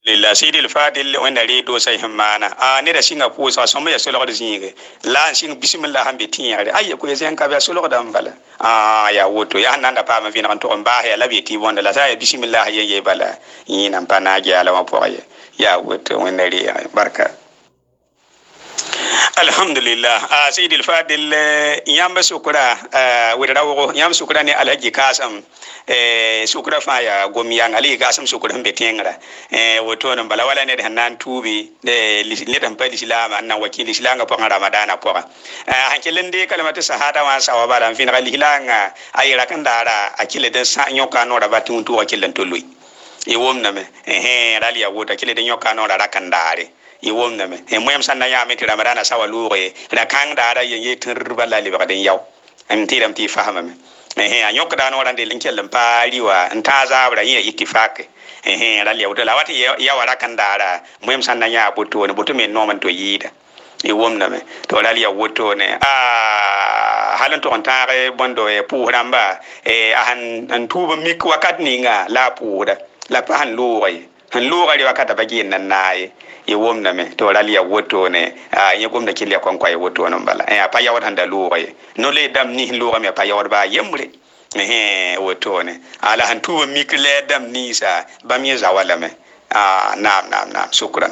lilla sidil fadil wanda redo sai himmana ne da singa ko sa so ya solo da zinge la sing bismillah hambe tinyare ay ko yen ka ba solo da mbala ya woto ya nanda pa ma vina to mba ya labi ti wonda la sa bismillah ye bala yina pana ja la ma poye ya woto wanda ri barka alhamdulillah sayyidil fadil yamba sukura wirawo yam sukura ne alhaji kasam sukura fa ya gomiyan ali kasam sukura hembe tengra woto non bala wala ne hanan tubi ne dan padi silama nan wakili silanga po ramadana po hankelen de kalmatu sahada wa sawaba dan fin gali hilanga ayira kan dara akile den sa nyoka no rabatu to wakilen tolui womna me rali ya wota akile den nyoka no rakan dare womna me moyam sanna ya meti ramadana sawa lure da kan dara yen turba la liba den yaw am tiram ti fahama me anyok da no rande linkel pari wa nta zabra yin ittifaq rali ya wota lawati ya wara kan dara moyam sanna ya boto ne boto me no man to yida womna me to rali ya woto ne halan to ontare bondo pu ramba an tuba mik wakat ninga la puda la pan lure han lure wakata bagin nan nayi womna me to rali ya woto ne ye gomna kilya kon ko woto non bala pa yawat handa lure no le dam ni lure me pa yawat ba yemre woto ne ala han tuba mik le dam ni sa bam ye zawala me nam shukran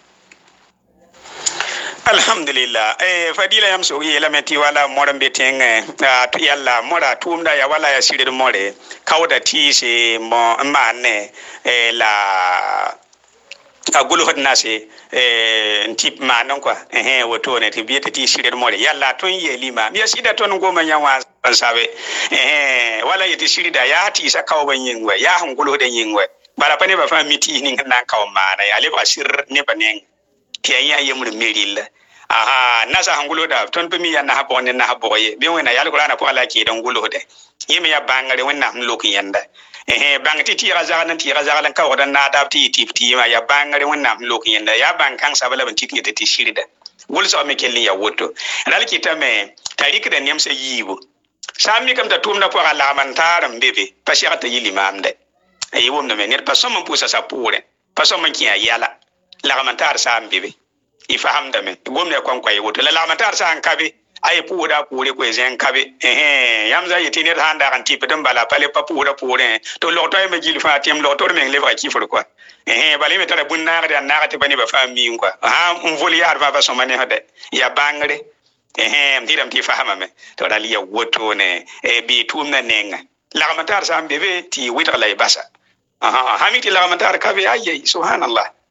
alhamdulillah fadila yam so yela meti wala morambe tenge to yalla mora tumda ya wala ya sirir more kawda tise mo mane la agulu hodna se tip manon kwa woto ne tibiyete ti sirir more yalla ton yelima mi sida ton goma nyawa sabe wala yeti sirida ya ti sa kawban yingwe ya hangulu de yingwe bara pane ba fa miti ni nan kawma na ya le ba sir ne banen tiya yemur merilla nasa hangulo da ton pemi ya na habone na haboye bi wena yal qur'ana ko ala ki dan gulo de yimi ya bangare wena lokin yanda bang ti razalan ka wadan na da ti ma ya bangare wena lokin yanda ya bang kan sabala ban ti ti shirida wul so me kelli ya woto dal ki tame tarik da nyam se yibo sami kam ta tumna ko ala man taram bebe pashata yili mamde wom no me ne pasom mon pusa sa pure pasom man ki ya yala la ramantar sam bebe ifahamda me gomne kon koy woto la lamatar sa an kabe ay puuda puure ko zen kabe yamza yitini handa kan tipe dum bala pale pa puuda puure to loto e me jil fatim loto me le va kifur ko bale me tara bunna ga na ga te bani ba fami ko on voli yar ba so mane hade ya bangre ndiram ti fahama me to dal ya woto ne bi tumna nenga lamatar sa bebe ti wita lay basa hamiti lamatar kabe ayyi subhanallah